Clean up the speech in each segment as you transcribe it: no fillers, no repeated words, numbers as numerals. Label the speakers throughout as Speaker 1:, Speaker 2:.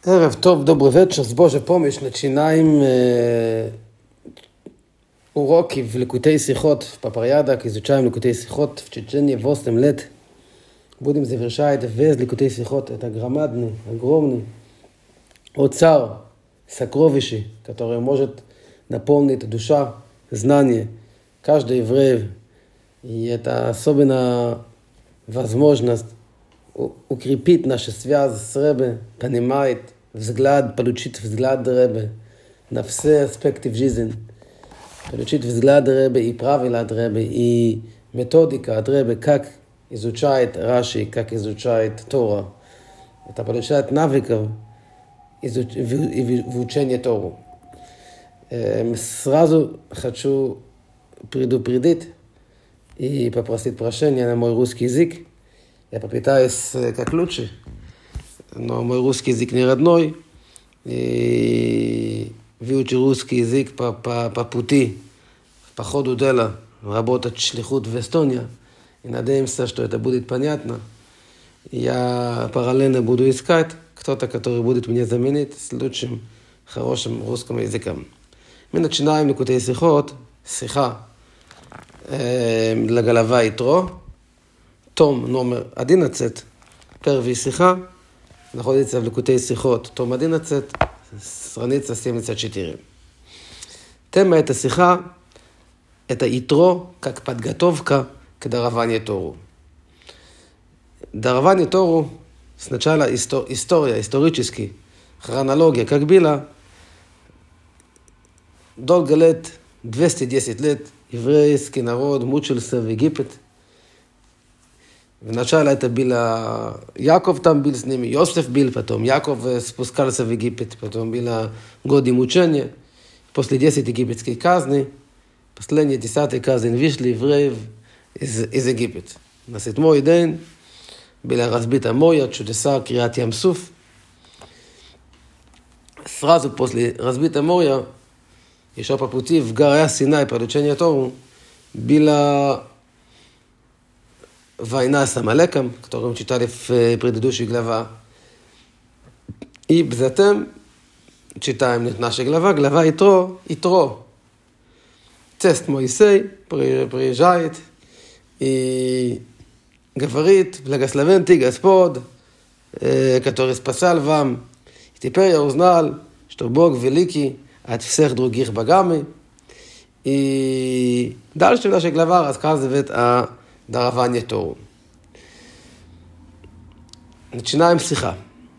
Speaker 1: Erev Tov, dobry wieczór. Z Boże pomyśl, начинаем уроки в Ликутей Сихот в Папарьядах, изучаем Ликутей Сихот в течение 8 лет. Будем завершать весь Ликутей Сихот. Это громадный, огромный оцар, сокровище, которое может наполнить душа, знание каждого еврея. И это особенно возможность укрепить нашу связь с Ребе, понимать взгляд, получить взгляд Ребе на все аспекты в жизни, получить взгляд Ребе и правила от Ребе, и методика от Ребе, как изучает Раши, как изучает Тора. Это получает навыков в учении Тору. Сразу хочу предупредить и попросить прощения на мой русский язык. Я попытаюсь как лучше, но мой русский язык не родной. И выучу русский язык по пути, по ходу дела, работать шлихут в Эстонии. И надеемся, что это будет понятно. Я параллельно буду искать кто-то, который будет меня заменить с лучшим, хорошим русским языком. Мы начинаем Ликутей Сихот, Сиха для Галава Итро. Том номер 11, первая сиха, находится в Ликутей Сихот. Том 11, страница 74. Тема этой сиха – это Итро, как подготовка к дарованию Тору. Дарование Тору сначала история, исторически, хронология, как было. Долго лет, 210 лет, еврейский народ мучился в Египет. Вначале это было Яков там был с ними, Йосеф был, потом Яков спускался в Египет, потом было годы мучения. После 10 египетских казней, последние 10 казни вышли евреев из Египта. На 7-й день было разбито море, чудеса Криат Ям-Суф. Сразу после разбитого моря, еще по пути в горе Синай, получение Тору, было война с Амалеком, которую мы читали в предыдущей главе. И затем читаем наша глава Итро. Тест Моисей приезжает и говорит: благословен ты, Господь, который спасал вам. И теперь я узнал, что Бог великий от всех других богами. И дальше наша глава рассказывает о дарование Тору. Начинаем сиха.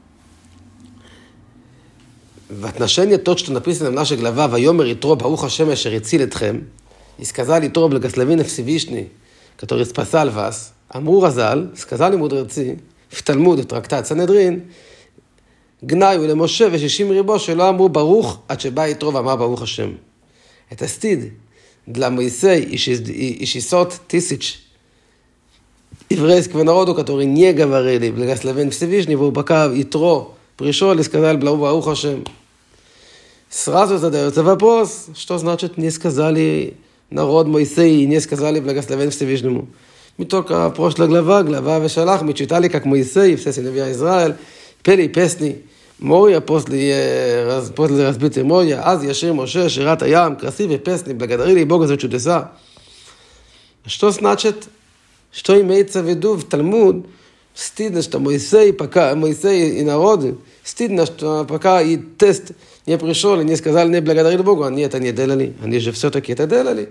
Speaker 1: В отношении того, что написано в нашей главе, «Вайомер Итро, Барух Ашем, ашер ицил этхем», и сказал Итро, благословен Всевышний, который спасал вас, אמרו רז"ל, сказали мудрецы, в Талмуд, в трактат Санедрин, גנאי למשה ו60 ריבו שלא אמרו ברוך עד שבא יתרו ואמר ברוך השם. Это стыд для Моисея и 600 тысяч еврейского народу, которые не говорили благословен Всевышнего, пока Итро пришел и сказал Барух Ашем. Сразу задается вопрос, что значит не сказали народ Моисея и не сказали благословен Всевышнему. Мы только прошлая глава Вешалах, мы читали, как Моисей и все сыновья Израиля пели песни моря после разбития моря. Аз яшир Моше, шират аям, красивые песни, благодарили Бога за чудеса. Что значит, что имеется в виду в Талмуд? Стыдно, что Моисей и народ, стыдно, что пока и тест не пришел и не сказали, не благодарили Богу, они это не делали, они же все-таки это делали.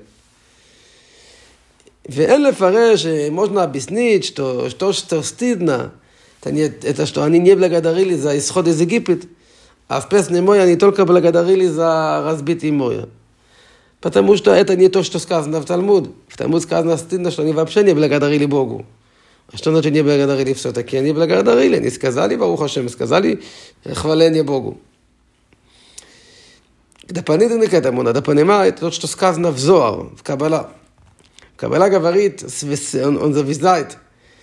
Speaker 1: ואין לפרש, можно объяснить, что стыдно, это что они не благодарили за исход из Египта, а в песне моя они только благодарили за разбитие моря. Потому что это не то, что сказано в Талмуд. В Талмуд сказано стыдно, что они вообще не благодарили Богу. А что значит не благодарили все-таки? Они благодарили, они сказали Барух Ашем, сказали хваление Богу. Дополнительно к этому надо понимать то, что сказано в Зоар, в Каббала. Каббала говорит, он завязает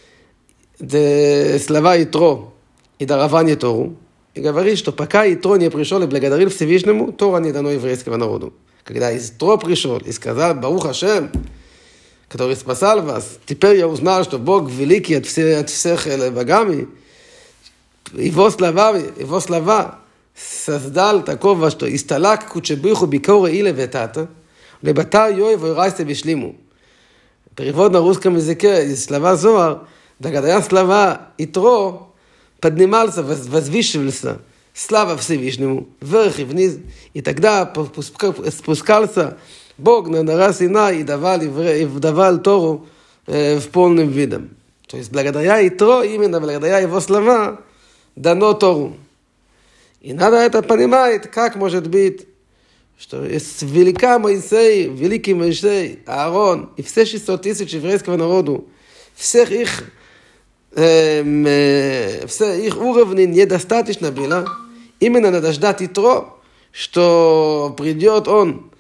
Speaker 1: слова Итро и дарование Тору, и говорит, что пока Итро не пришел и благодарил Всевышнему, Тора не дано еврейскому народу. Когда Итро пришел и сказал Барух Ашем, который спасал вас, теперь я узнал, что Бог великий от всех богами, его слова, создал такого, что исталак кучебиху бикоре или ветата, лебатар йой войрайся бишлиму. Перевод на русском языке из слова Зоар, благодаря слова Итро, поднимался, возвышивался, слава Всевышнему, вверх и вниз, и тогда спускался Бог на гора Синай и давал Тору в полном видом. То есть благодаря Итро, именно благодаря его слова, дано Тору. И надо это понимать, как может быть, что есть великий Моисей, Аарон, и все 600 тысяч еврейского народу, все их уровни недостаточно было. Именно надо ждать Итро, что придет он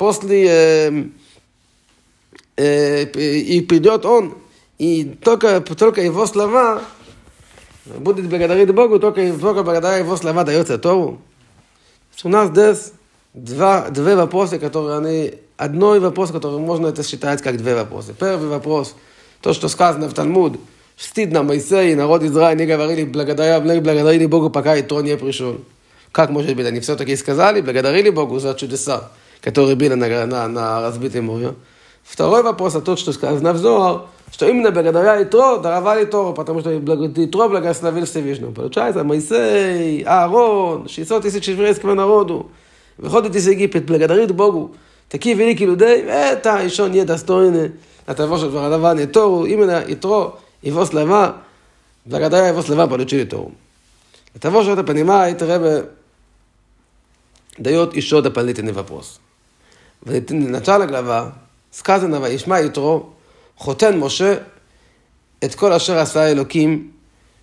Speaker 1: и только его слова будет благодарить Богу, только благодаря его слова дается Тору. У нас здесь две вопроса, одной вопрос, который можно это считать как две вопроса. Первый вопрос, то, что сказано в Талмуд, стыдно Моисей, народ Израиля не говорили, благодарили Богу, пока Итро не пришел. Как может быть? Они все-таки сказали, благодарили Богу за чудеса, которые были на разбитом море. Второй вопрос, тот, что сказано в Зоар, что именно благодаря Итро даровали Тору, потому что Итро благословил Всевышнего. Получается, Моисей, Аарон, 600 тысяч еврейского народу, выходит из Египет, благодарит Богу. Такие великие люди, это еще недостойны от того, что даровали Тору. Именно Итро, его слова, благодаря его слова получили Тору. Для того, что это понимает, Ребе дает еще дополнительный вопрос. В начале глава сказано, וישמע יתרו, חותן משה את כל אשר עשה אלוקים,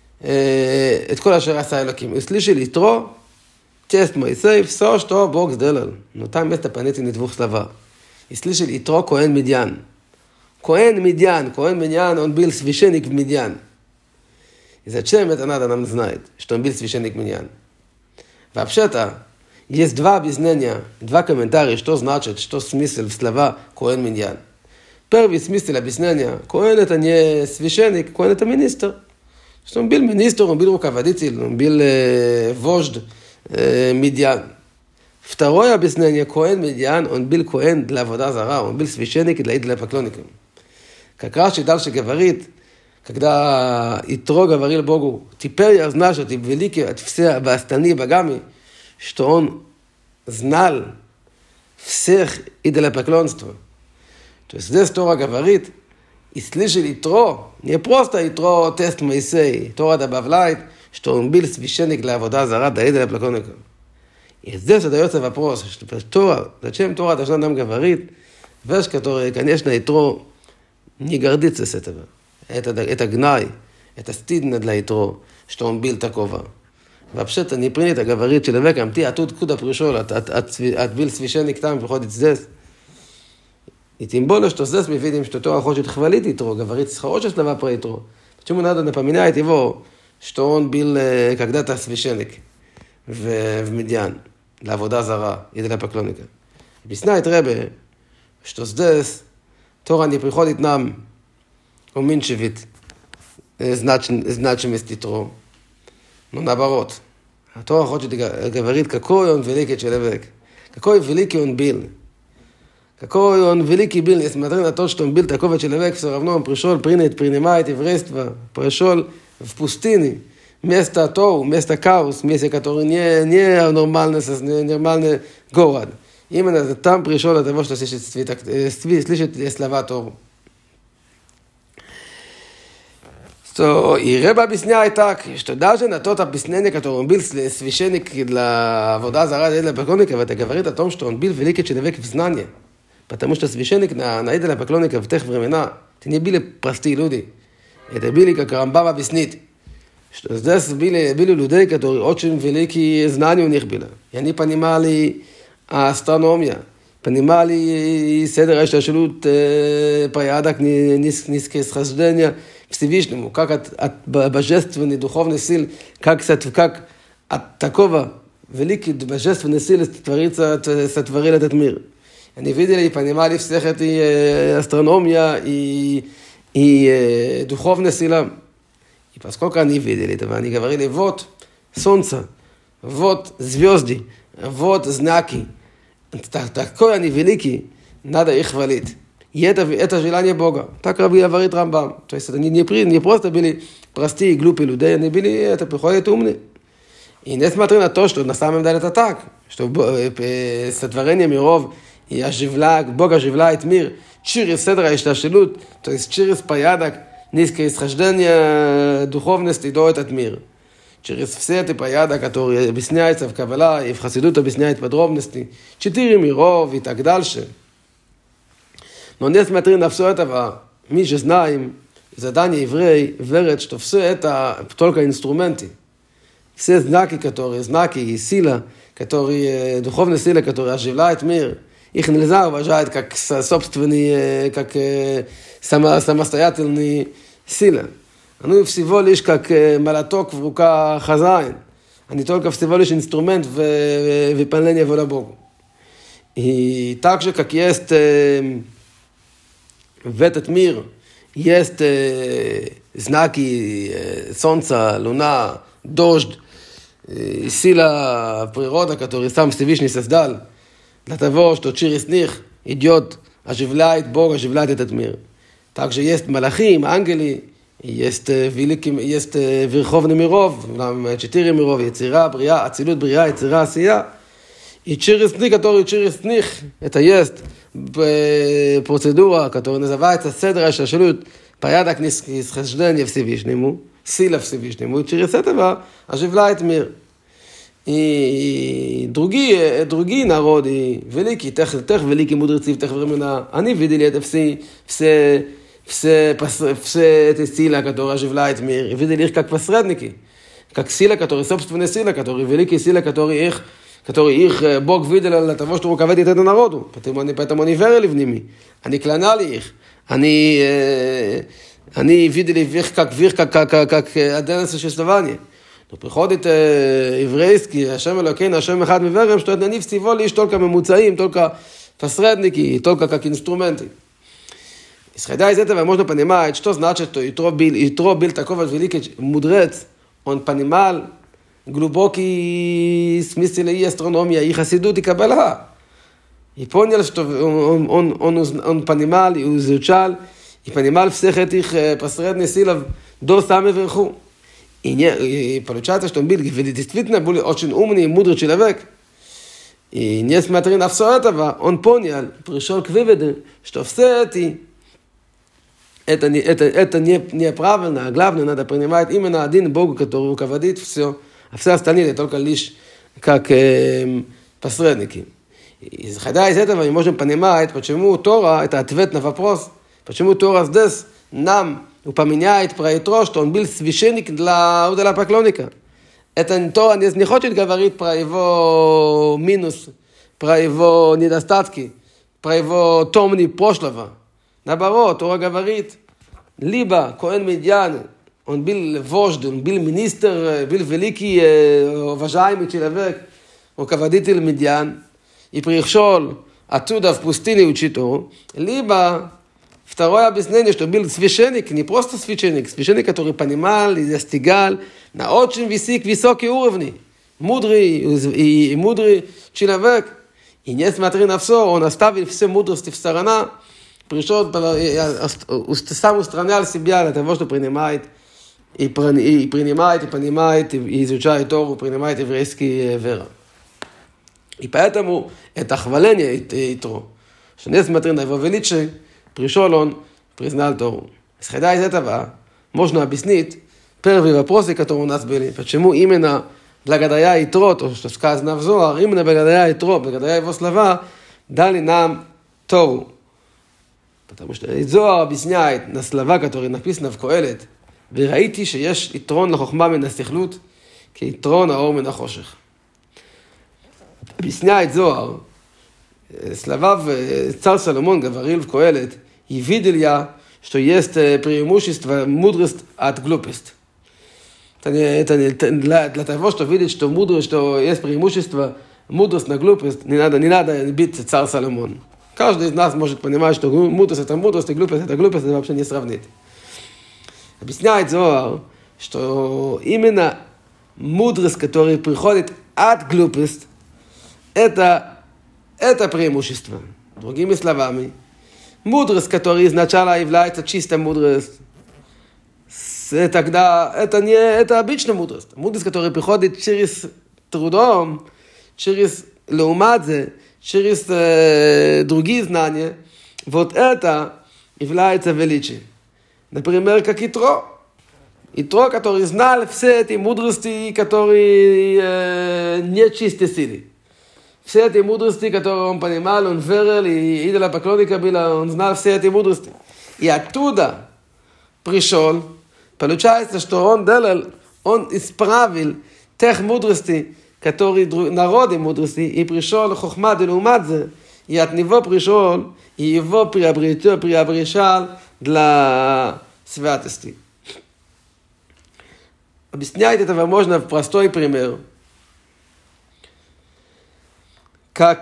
Speaker 1: услышали Итро, тест Моисей, все, что Бог сделал. Но там есть дополнительный двух слова. И слышали Итро, Коэн Медьян. Коэн Медьян, он был священник в Медьян. И зачем это надо нам знать, что он был священник в Медьян? Вообще-то, есть два объяснения, два комментария, что значит, что смысл в слова Коэн Медьян. Первый смысл объяснения, Коэн это не священник, Коэн это министр. Что он был министр, он был руководитель, он был вождь Медьян. Второе объяснение, Коэн Медьян, он был Коэн для avodah zara, он был священник для идолопоклонников. Как Раши дальше говорит, когда Итро говорил Богу, теперь я знаю, что ты великий от всех остальных богами, что он знал всех идолопоклонства. То есть здесь Тора говорит, и слышали Итро, не просто Итро тест Моисей, Тора добавляет, что он был священник для avodah zara, для идолопоклонников. И здесь задается вопрос, что Тора, зачем Тора должна нам говорить, вещь, которая, конечно, Итро не гордится с этого. Это гнай, это стыдно для Итро, что он был такого. Вообще-то не принято говорить человеком, ты откуда пришел, был священник там, приходит здесь. И тем более, что здесь мы видим, что Тора хочет хвалить Итро, говорит хорошие слова про Итро. Почему надо напоминать его, что он был когда-то священник в Медьян, для avodah zara, и для поклонника. Объясняет Ребе, что здесь Тора не приходит нам уменьшить значимость Итро. Но наоборот, Тора хочет говорить, какой он великий человек, какой великий он был. Какой он великий был, несмотря на то, что он был такого человека, все равно он пришел, принимает еврейство, пришел в пустыне, место Тору, место Каус, место, которое не нормальный город. Именно там пришел от того, что слышит слова Тору. И Ребе объясняет так, что даже на тот объяснение, которое он был священник для avodah zara, для идолопоклонников, это говорит о том, что он был великий человек в знании. Потому что священник на идолопоклонников в тех времена, это не были простые люди. Это были, как Рамбам объяснит, что здесь были люди, которые очень великие знания у них были. И они понимали астрономию, понимали седер השתלשלות порядок нисхождения Всевышнему, как от божественной духовной силы, как от такого великой божественной силы сотворил этот мир. Они видели и понимали всех эти астрономия и духовная сила. И поскольку они видели этого, они говорили, вот солнце, вот звезды, вот знаки. Такой они великий, надо их хвалить. И это желание Бога. Так говорит Рамбам. То есть это не просто были простые, глупые люди, они были, это приходят умные. И несмотря на то, что на самом деле это так, что сотворение миров и Бог оживляет мир через седра ишташелут, то есть через порядок, низкое исхождение духовности до этот мир. Через все эти порядок, которые объясняются в Каббала и в Хасидут объясняют подробности, 4 миров и так дальше. Но несмотря на все это, мы же знаем, задание еврея верит, что все это только инструменты. Все знаки и сила, духовная сила, которая оживляет мир, их нельзя уважать как собственные, как самостоятельные силы. Они всего лишь как молоток в руках хозяин. Они только всего лишь инструмент выполнения воли Богу. И так же, как есть в этот мир, есть знаки солнца, луна, дождь, сила природы, которую сам Всевышний создал, для того, что через них идет, оживляет Бог, оживляет этот мир. Также есть малахим, ангели, есть верховный миров, 4 миров, яцира, брия, ацилут, брия, яцира, асия. И через них, это есть процедура, которая называется седра ишташелут, порядок нисхождения Всевышнему, сила Всевышнему, и через это оживляет мир. И другие народы, великие, тех великие мудрецы в тех времена, они видели это все эти силы, которые оживляют мир, и видели их как посредники, как сила, которые собственные силы, которые великие силы, которые их Бог видел для того, чтобы руководить этому народу. Поэтому они верили в ними, они кланяли их, они видели их как отдельное существование. Но приходит еврейский, Ашем Элокейну, Ашем Эхад Миверем, что они всего лишь только мемуцаим, только посредники, только как инструменты. Исходя из этого можно понимать, что значит, что Итро был такой великий мудрец, он понимал глубокий смысл и астрономия, и хасидут, и каббала. И понял, что он понимал и изучал, и понимал всех этих посредных сил до самого верху. И получается, что он был действительно был очень умный и мудрый человек. И несмотря на все это, он понял, пришел к выводу, что все это неправильно, а главное, надо принимать именно один Бог, который руководит все, а все остальные только лишь как посредники. И исходя из этого мы можем понимать, почему Тора, это ответ на вопрос, почему Тора здесь нам упоминает про Итро, что он был священник для поклонника. Это Тора не хочет говорить про его минус, про его недостатки, про его томни прошлого. Наоборот, Тора говорит, либо Коэн Медьян, он был вождь, он был министр, был великий, уважаемый человек, руководитель Медьян, и пришел оттуда в пустыне учить Тору, либо второе объяснение, что был священник, не просто священник, который понимал и достигал на очень высокие уровни, мудрый человек. И несмотря на все, он оставил все мудрости в сторону, пришел, сам устранял себя для того, что принимает, понимает, и изучает Тору, принимает еврейские веры. И поэтому это хваление Итро, что несмотря на его величие, пришел он, признал Тору. Исходя из этого, можно объяснить первые вопросы, которые у нас были. Почему именно благодаря Итро, то, что сказано в Зоар, именно благодаря Итро, благодаря его слова, дали нам Тору. Потому что Зоар объясняет на слова, которые написаны в Коэлет, וראיתי שיש יתרון לחוכמה מן הסכלות, כיתרון האור מן החושך. объясняет Зоар, слова царь Соломон говорил в Коэлет, и видел я, что есть преимущество мудрость от глупости. Это для того, чтобы видеть, что есть преимущество мудрость на глупость, не надо бить царь Соломон. Каждый из нас может понимать, что мудрость это мудрость, и глупость это глупость, это вообще не сравнить. Объясняет Зоар, что именно мудрость, которая приходит от глупости, это преимущество. Другими словами, мудрость, которая изначально является чистой мудростью, тогда это обычная мудрость. Мудрость, которая приходит через трудом, через леумадзе, через другие знания, вот это является величием. Например, как Итро. Итро, который знал все эти мудрости, которые не чистые силы. Все эти мудрости, которые он понимал, он верил, и идола поклонника было, он знал все эти мудрости. И оттуда пришел, получается, что он исправил тех мудростей, которые народы мудрости, и пришел хохма делумадзе, и от него пришел, и его приобретал для святости. Объясняет это можно в простой пример. Как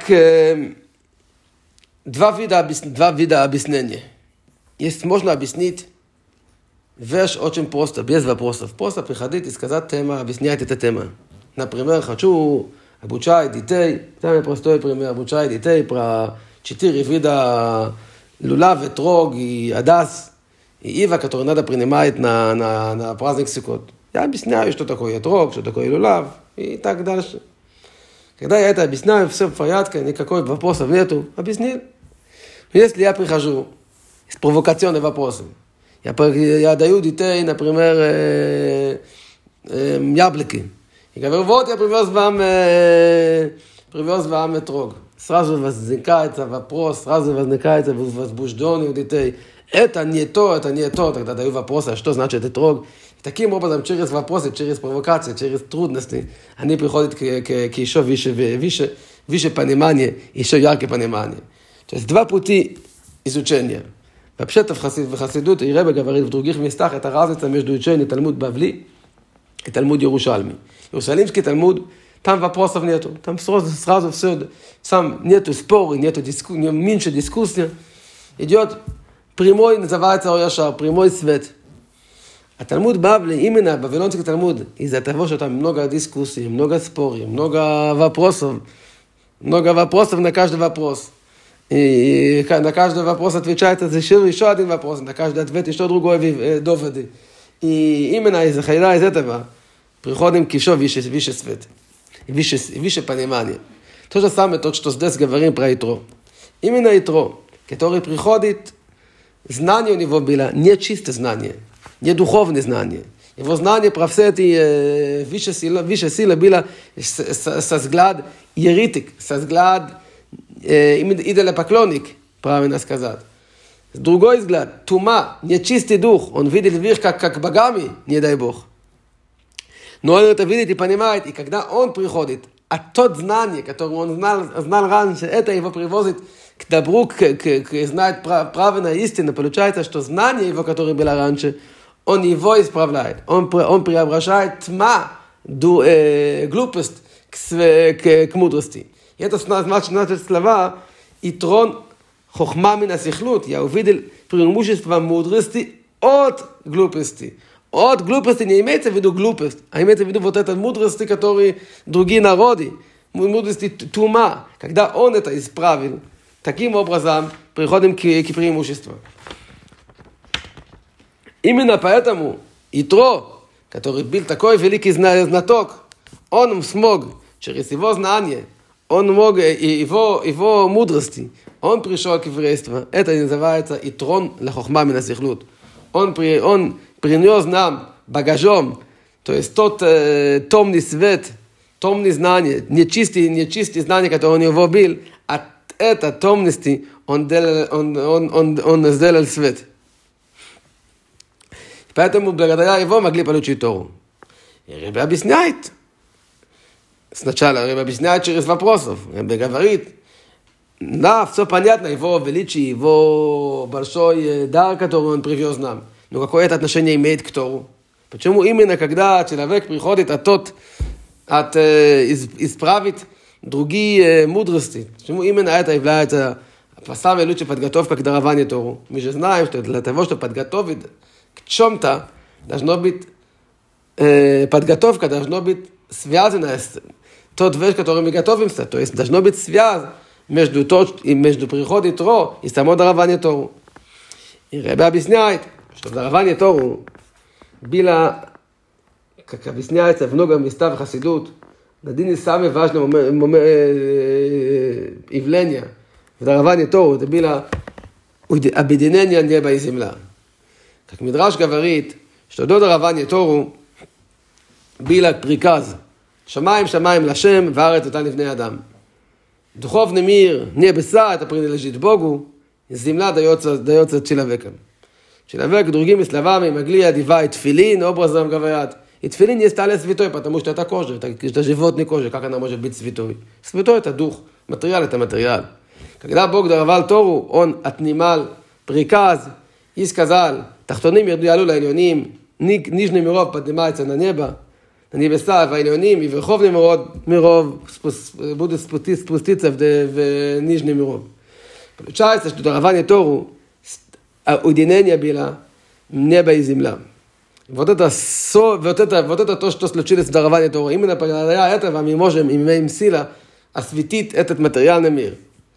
Speaker 1: два вида объяснения. Можно объяснить вещь очень просто, без вопросов. Просто приходить и сказать тема, объяснять эту тему. Например, хочу обучать детей, самый простой пример, обучать детей про 4 вида лулав, этрог и адас, и ива, которые надо принимать на праздник Суккот. Я объясняю, что такое этрог, что такое лулав и так дальше. Когда я это объясняю, все в порядке, никакой вопросов нету, объяснил. Если я прихожу с провокационными вопросами, я даю детей, например, яблоки. И говорю, вот я привез вам этрог. Сразу возникает вопрос, сразу возникает возбуждение у детей. Это не то, тогда даю вопрос, а что значит этрог? И таким образом, через вопросы, через провокации, через трудности, они приходят к еще выше понимание, еще яркое понимание. То есть два пути изучения. Вообще-то в Хасидут, и Ребе говорит в других местах, это разница между изучением Талмуд Бавли и Талмуд Иерушалми. Иерусалимский Талмуд, там вопросов нету, там сразу все, сам нету споры, нету меньше дискуссии. Идет прямой, называется Ояшар, прямой свет. А Талмуд Бавли, именно Вавилонский Талмуд, из-за того, что там много дискуссий, много споров, много вопросов на каждый вопрос. И на каждый вопрос отвечает еще один вопрос, на каждый ответ еще другой доводы. И именно из этого приходим к еще выше свет, выше понимание. То же самое, то, что здесь говорим про Итро. Именно Итро, который приходит, знание у него было не чистое знание, не духовное знание. Его знание про все эти выше силы было со взгляд еретик, со взгляд идола поклонник, правильно сказать. С другой взгляд, тума, нечистый дух, он видит вверх как богами, не дай Бог. Но он это видит и понимает, и когда он приходит, а тот знание, которое он знал раньше, это его привозит к добру, к знать правильную истину. Получается, что знание его, которое было раньше, он его исправляет. Он преображает тьма, глупость к мудрости. И это значит слова «Итрон хохма мин асихлут». Я увидел преимущество мудрости от глупости. От глупости не имеется в виду глупость, а имеется в виду вот этой мудрости, которые другие народы, мудрости тума. Когда он это исправил, таким образом приходим к преимуществу. Именно поэтому Итро, который был такой великий знаток, он смог через его знание, он мог и его мудрости, он пришел к еврейству. Это называется Итрон лехохма мин асихлут. Он принес нам багажом, то есть тот томный свет, томные знания, нечистые знания, которые у него был, от этой томности он сделал свет. Поэтому благодаря его могли получить Тору. И Ребе объясняет. Сначала Ребе объясняет через вопросов. Ребе говорит, да, все понятно, его величие, его большой дар, который он привез нам. Но какое это отношение имеет к Тору? Почему именно когда человек приходит исправить другие мудрости? Почему именно это является самой лучшей подготовкой к дарованию Тору? Мы же знаем, что для того, чтобы подготовить к чем-то, должно быть подготовка должна быть связана с тот вещь, которая мы готовимся. То есть должна быть связь между приходом Итро и само дарование Тору. И Ребе объясняет, что дарование Тору было, как объясняется в много местах в Хасидут, один из самых важных явлений в даровании Тору, это было объединение неба и земля. Как Мидраш говорит, что до дарования Тору было приказ «Шамаем, шамаем лашем, ваарет это лифней адам». Духовный мир, небеса, это принадлежит Богу, и земля дается человеком. Человек, другими словами, могли одевать тфилин, образом говорят, и тфилин не стали святой, потому что это кожа, это животная кожа, как она может быть святой? Святой это дух, материал это материал. Когда Бог даровал Тору, Он отнимал приказ и сказал, тахтоним ярду лa'elyonim, нижний миров поднимается на небо, на небеса, והעליונים, и верховный миров будут спуститься в нижний миров. Получается, что дарование Тору, уединение было небо и земля. Вот это то, что случилось в даровании Тору. Именно благодаря этого мы имеем силу осветить этот материальный мир.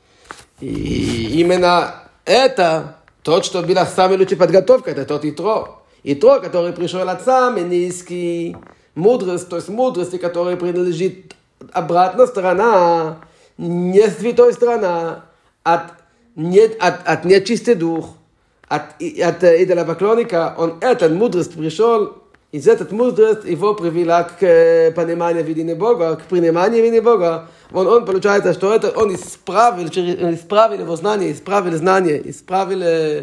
Speaker 1: И именно это тот, что была самая лучшая подготовка, это тот Итро. Итро, который пришел от самой низкой мудрость, то есть мудрости, которая принадлежит обратная сторона, не святой сторона, от нечистый дух, от идолопоклонника, он этот мудрость пришел, из этой мудрости его привела к пониманию видения Бога, к приниманию видения Бога. Он получается, что это он исправил его знание, исправил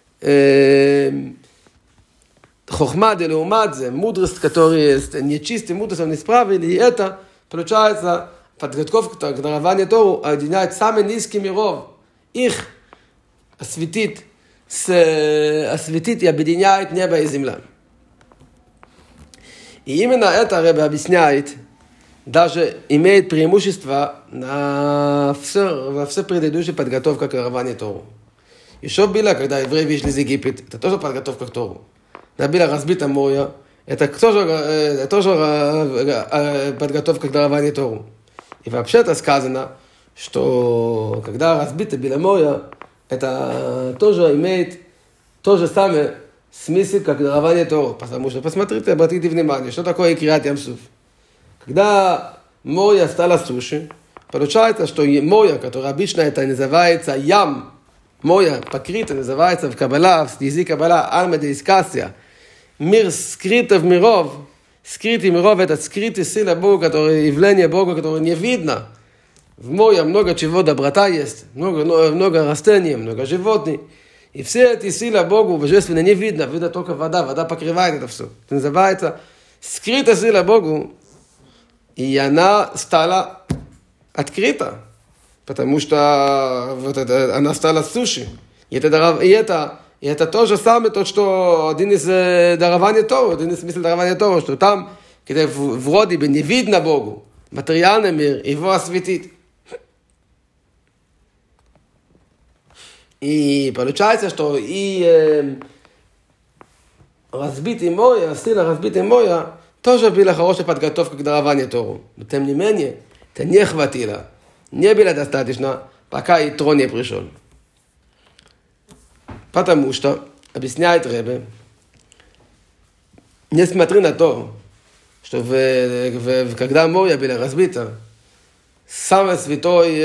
Speaker 1: хохма делеумадзе, мудрость, которая нечистая мудрость, он исправил, и это, получается, подготовка к дарованию Тору объединяет самые низкие миров, их осветит и объединяет небо и земля. И именно это Ребе объясняет, даже имеет преимущество во все предыдущие подготовки к дарованию Тору. Еще было, когда евреи вышли из Египта, это тоже подготовка к Тору. Было разбито море, это тоже подготовка к дарованию Тору. И вообще-то сказано, что когда разбито было море, это тоже имеет то же самое смысл, как дарование Тору. Потому что, посмотрите, обратите внимание, что такое Криат Ям-Суф. Когда море стало суши, получается, что море, которое обычно это называется ям, море покрыто, называется в Каббала, в языке Каббала, Альма де Искасия, мир скрытый миров, это скрытая сила Бога, которое явление Бога, которое не видно. В море много чего, доброта есть, много растений, много животных. И все эти силы Богу божественно не видно, видно только вода покрывает это все. Это называется скрытая сила Богу, и она стала открыта, потому что вот это, она стала суши. И это то же самое, то, что один из дарований Тору, один из смыслов дарования Тору, что там, где вроде бы не видно Богу, материальный мир, его осветит. И получается, что и разбитый море, сила разбитый море, тоже была хорошая подготовка к дарованию Тору. Но тем не менее, это не хватило. Не было достаточно, пока Итро не пришел. Потому что, объясняет Ребе, несмотря на то, что когда море было разбито, самый святой,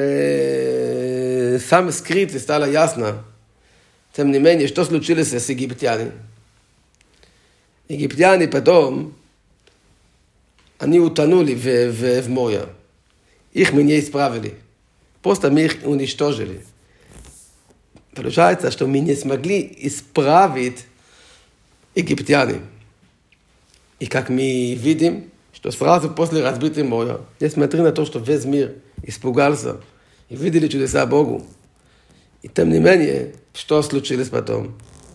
Speaker 1: самый скрытый стало ясно. Тем не менее, что случилось с египтянами? Египтяне потом, они утонули в море. Их мы не исправили. Просто мы их уничтожили. Получается, что мы не смогли исправить египтяне. И как мы видим, что сразу после разбитого моря, несмотря на то, что весь мир испугался и видели чудеса Богу, и тем не менее, что случилось потом?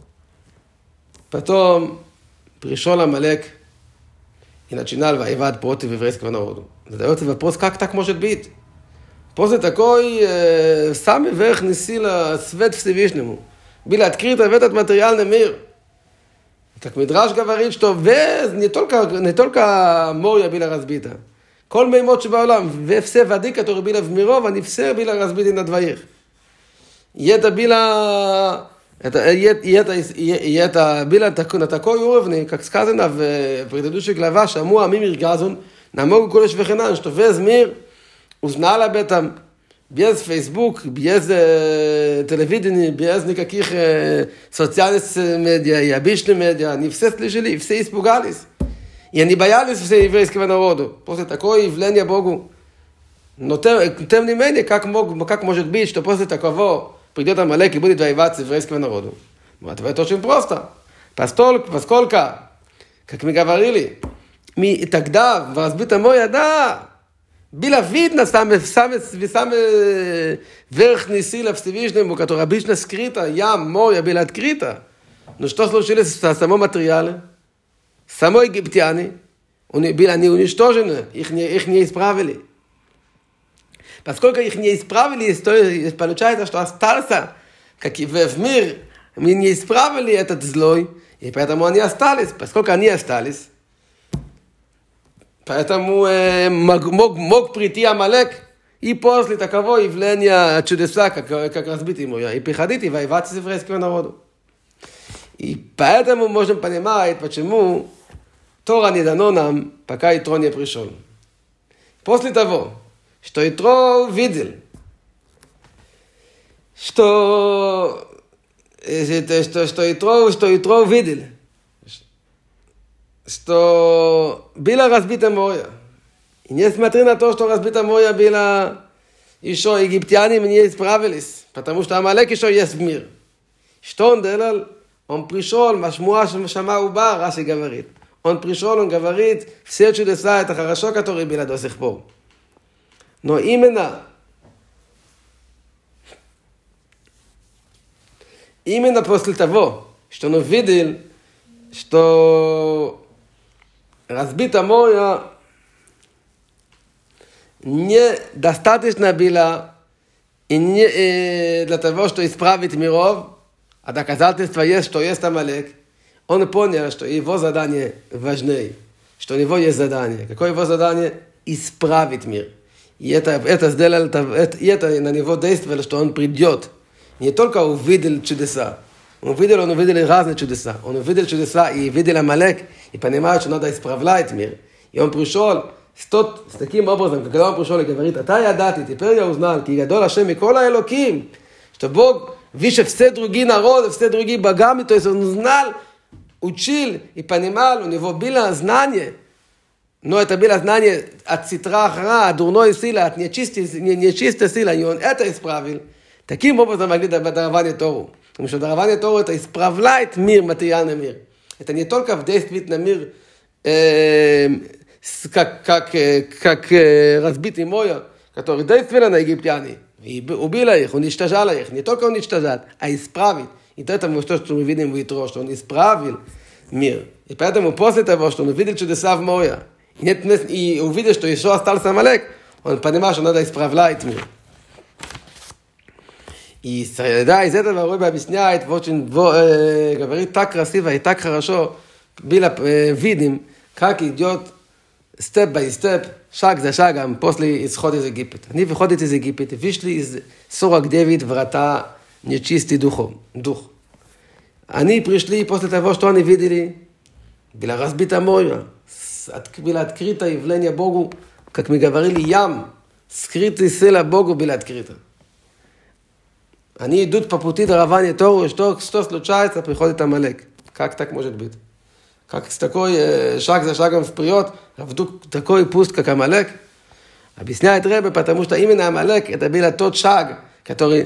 Speaker 1: Потом пришел Амалек и начинал воевать против еврейского народа. Задается вопрос, как так может быть? После такой самый верхний сила свет Всевышнему был открыт в этот материальный мир. как מדרש говорит, что не только Морья bila разбита. כל מימות שבעולם, все воды, которые были в миров, они все были разбиты на двоих. И это было на такой уровне, как сказано в предыдущей главе, שאמרו עמים ירגזון, נמוגו קודש וחנן, что весь мир узнал об этом, без Facebook, без телевидения, без никаких социальных медиа и обычных медиа, они все слышали, все испугались. И они боялись все еврейского народа. После такого явления Богу. Но тем не менее, как может быть, что после такого придет Амалек и будет воевать с еврейским народом? Ответ очень просто. Поскольку, как мы говорили, тогда в разбитом море, да, было видно самые верхние силы Всевышнему, которые обычно скрыто, море было открыто. Но что случилось с самым материалом? Само египтяне, они уничтожены, их не исправили. Поскольку их не исправили, то получается, что остался, как и в мир, мы не исправили этот злой, и поэтому они остались. Поскольку они остались, поэтому мог прийти Амалек, и после такого явления чудеса, как разбитый Морья, и приходить и воевать с еврейским народом. И поэтому можем понимать, почему Тора не дано нам, пока Итро не пришел. После того, что Итро видел, что Итро видел, что было разбито море. И несмотря на то, что разбито море было, еще египтяне не исправились, потому что Амалек еще есть в мир. Что он делал? Он пришел, Машмуа Шама Уба, Раши говорит. Он пришел, он говорит, все чудеса, это хорошо, которые были до сих пор. Но именно после того, что он увидел, что разбито море недостаточно было и не для того, чтобы исправить миров, а доказательство есть, что есть Амалек. Он понял, что его задание важнее, что у него есть задание. Какое его задание? Исправить мир. И это сделал, и это на него действовало, что он придет. Не только увидел чудеса. Он увидел разные чудеса. Он увидел чудеса и видел Амалек, и понимает, что надо исправлять мир. И он пришел с таким образом, когда он пришел и говорит, אתה ידעתי, теперь я узнал, כי גדול השם מכל האלוקים, что Бог выше все другие народы, все другие богами, то есть он знал, учил и понимал, у него было знание, но это было знание от ситра ра, от дурной силы, от нечистой силы, и он это исправил. Таким образом могли дарование Тору. Потому что дарование Тору это исправляет мир, материальный мир. Это не только в действии на мир, как разбитый море, который действовал на египтяне. И убил их, уничтожал их. Не только уничтожать, а исправить. И это мы что мы видим в Итро, что он исправил мир. И поэтому после того, что он увидел чудеса в море, и увидел, что еще остался Амалек, он понимал, что надо исправлять мир. И да, из этого Рэбе объясняет, очень говорит так красиво и так хорошо, было видим, как идет степ-бай-степ, шаг за шагом после исхода из Египет. Они выходят из Египет, вышли из 49 врата нечистый дух. Они пришли после того, что они видели, было разбито море, было открыто явление Богу, как мы говорили, ям, скрытый сила Богу было открыто. Они идут по пути дарования Тору, что случается, приходит Амалек. Как так может быть? Как с такой шаг за шагом вперед, а вдруг такой пуст, как Амалек? Объясняет Ребе, потому что именно Амалек это был тот шаг, который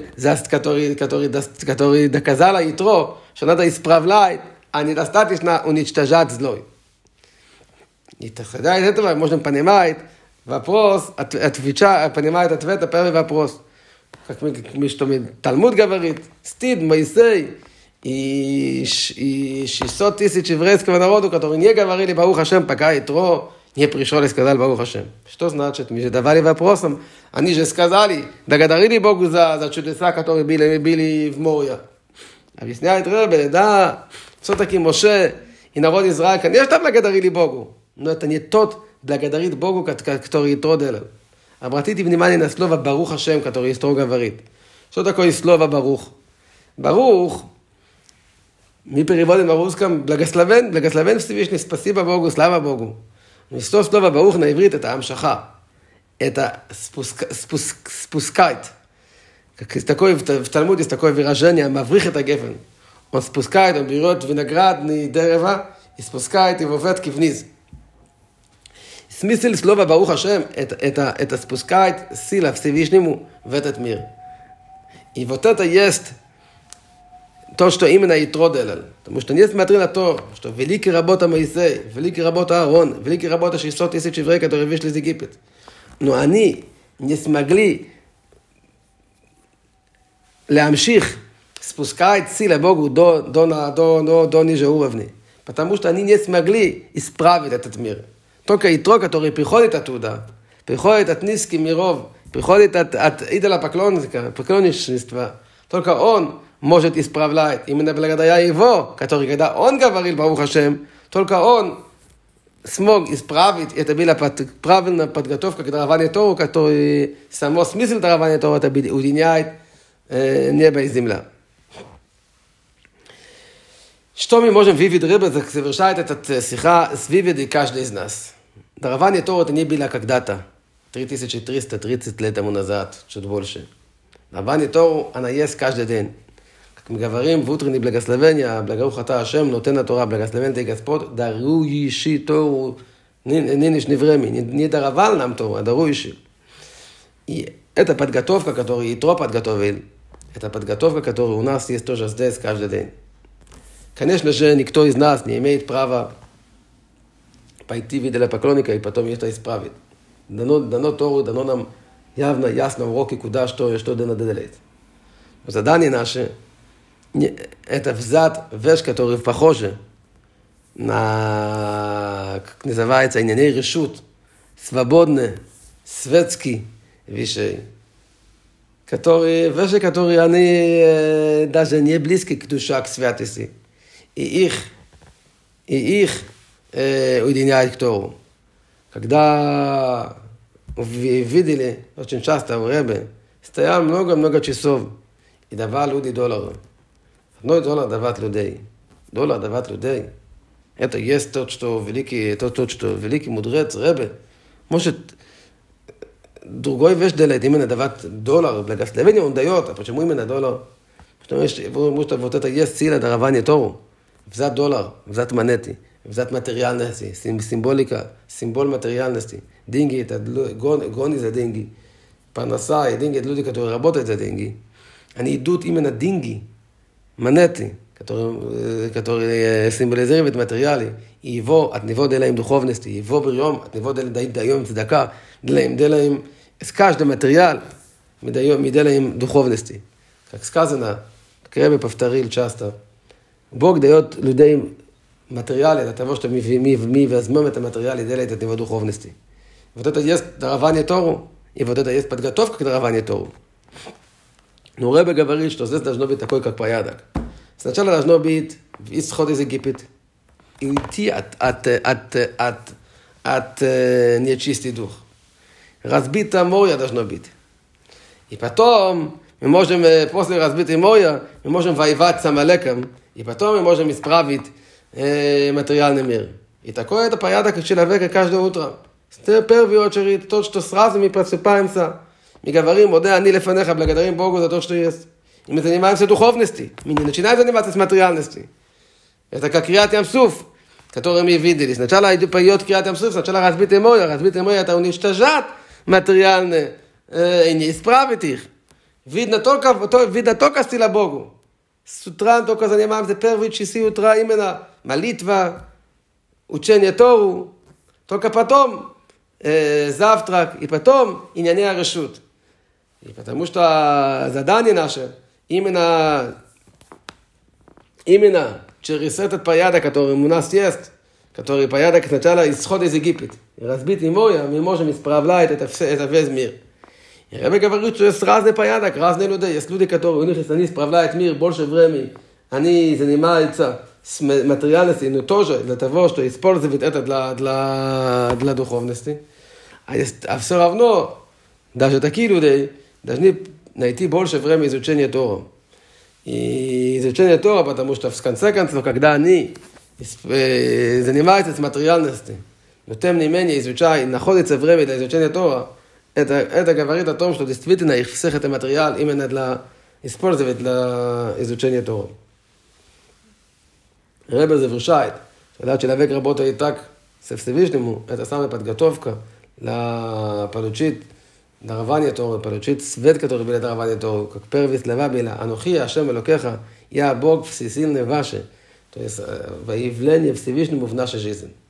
Speaker 1: доказал Итро, что надо исправлять, а недостаточно уничтожать злой. И тогда из этого можно понимать вопрос, понимает ответ на первый вопрос. Как Талмуд говорит, стыд Моисей и 600 тысяч еврейского народа, которые не говорили Барух Ашем, пока Итро не пришел и сказал Барух Ашем. Что значит? Мы же давали вопросом, они же сказали, благодарили Богу за чудеса, которые были в море. Объясняет Ребе, да, все-таки Моше и народ Израиль, конечно, благодарили Богу, но это не тот благодарит Богу, который Итро делал. Обратите внимание на слово Барух Ашем, который Итро говорит. Что такое слово Барух? Барух, мы переводим на русском благословен Всевышний, спасибо Богу, слава Богу. Но слово Барух на иврит это амшаха. Это спускает. В Талмуде есть такое выражение, маврих это гефен. Он спускает, он берет виноградное дерево и спускает его ветки вниз. Смысл слова Барух Ашем это спускает сила Всевышнему в этот мир. И вот это есть то, что именно Итро делал. Потому что несмотря на то, что великая работа Моисей, великая работа Аарон, великая работа 600 тысяч евреев, которые вышли из Египта, но они не смогли להמשיך спускать силу Богу до ниже уровня. Потому что они не смогли исправить этот мир. Только Итро, который приходит оттуда, приходит от низких миров, приходит от идола поклонничества, только он может исправлять. Именно благодаря его, который, когда он говорил Барух Ашем, только он смог исправить. Это была правильная подготовка к дарованию Тору, который само смысл дарования Тору это уединяет небо и земля. Что мы можем видеть рыбы, совершает этот сиха с выводы каждый из нас. Дарование Тору это не было когда-то, 3330 лет тому назад, чуть больше. Дарование Тору, она есть каждый день. Как мы говорим в утреннее благословение, благословен ты Ашем, нотен Тора, благословен ты Господь, дарующий Тору нынешнее время. Не даровал нам Тору, а дарующий. И эта подготовка, которую Итро подготовил, это подготовка, которая у нас есть тоже здесь каждый день. Конечно же, никто из нас не имеет права пойти в идолопоклонника и потом это исправить. Дано Тору, дано нам явно, ясно уроки, куда, что и что надо делать. Задание наше это взять вещь, которая похожа на, как называется, иньяней решут, свободные, светские вещи, вещи, которые они даже не близки к душе, к святости. И их уединяют к Тору. Когда видели, очень часто в Ребе, стоял много часов и давал люди $1. $1 давать людей. $1 давать людей. Это есть то, что великий мудрец Ребе может другой вещь делать, именно давать $1. Благословение он дает, а почему именно $1? Потому что вот это есть сила дарования Тору. Взять $1, взять монеты, взять материальности, символика, символ материальности. Деньги это гони за деньги. Парноса и деньги это люди, которые работают за деньги. Они идут именно деньги, монеты, которые символизируют материалы. И его от него делаем духовности, его прием от него даем цдака, делаем с каждым материал мы делаем духовности. Как сказано, как Ребе повторил часто, Бог дает людей материалы для того, чтобы мы возьмем это материал и делаем от него духовности. Вот это есть дарование Тору, и вот это есть подготовка к дарованию Тору. Но Ребе говорит, что здесь должно быть такой, как порядок. Сначала должно быть исход из Египта и уйти от нечистый дух. Разбито море должно быть. И потом мы можем, после разбитого моря, мы можем воевать с Амалеком, и потом мы можем исправить материальный мир. И такой это порядок человека каждое утро. В первую очередь, то, что сразу мы просыпаемся, мы говорим, «Модэ, ани лефанеха», благодарим Богу за то, что есть. И мы занимаемся духовностью. Мы не начинаем заниматься с материальностью. Это как Криат Ям-Суф, который мы видели. Сначала поет Криат Ям-Суф, сначала разбитое море. Разбитое море это уничтожать материальные и не исправить их. Видно только стиля Богу. С утра только занимаемся первые часы утра именно молитва, учение Тору. Только потом завтрак и потом иньяней решут. И потому что задание наше именно через этот порядок, который у нас есть, который порядок сначала исход из Египта, разбитый море, мы можем исправлять это весь мир. И Ребе говорит, что есть разный порядок, разные люди. Есть люди, которые они исправляют мир больше времени, они занимаются materialnosti, no тоже для того, что использовать это для духовности. А все равно, даже такие люди должны найти больше времени изучения Тора. И изучение Тора, потому что в конце концов, когда они занимаются с материальностью, но тем не менее изучают, находится время для изучения Тора, это говорит о том, что действительно их всех это материал именно для использовать для изучения Тора. Ребе завершает, когда человек работает так со Всевышнему, это самая подготовка получить дарование Торы, получить свет, который было дарование Торы, как первые слова были, «Анухи Ашем Элокеха, я Бог всесильный ваши», то есть во явление Всевышнему в нашей жизни.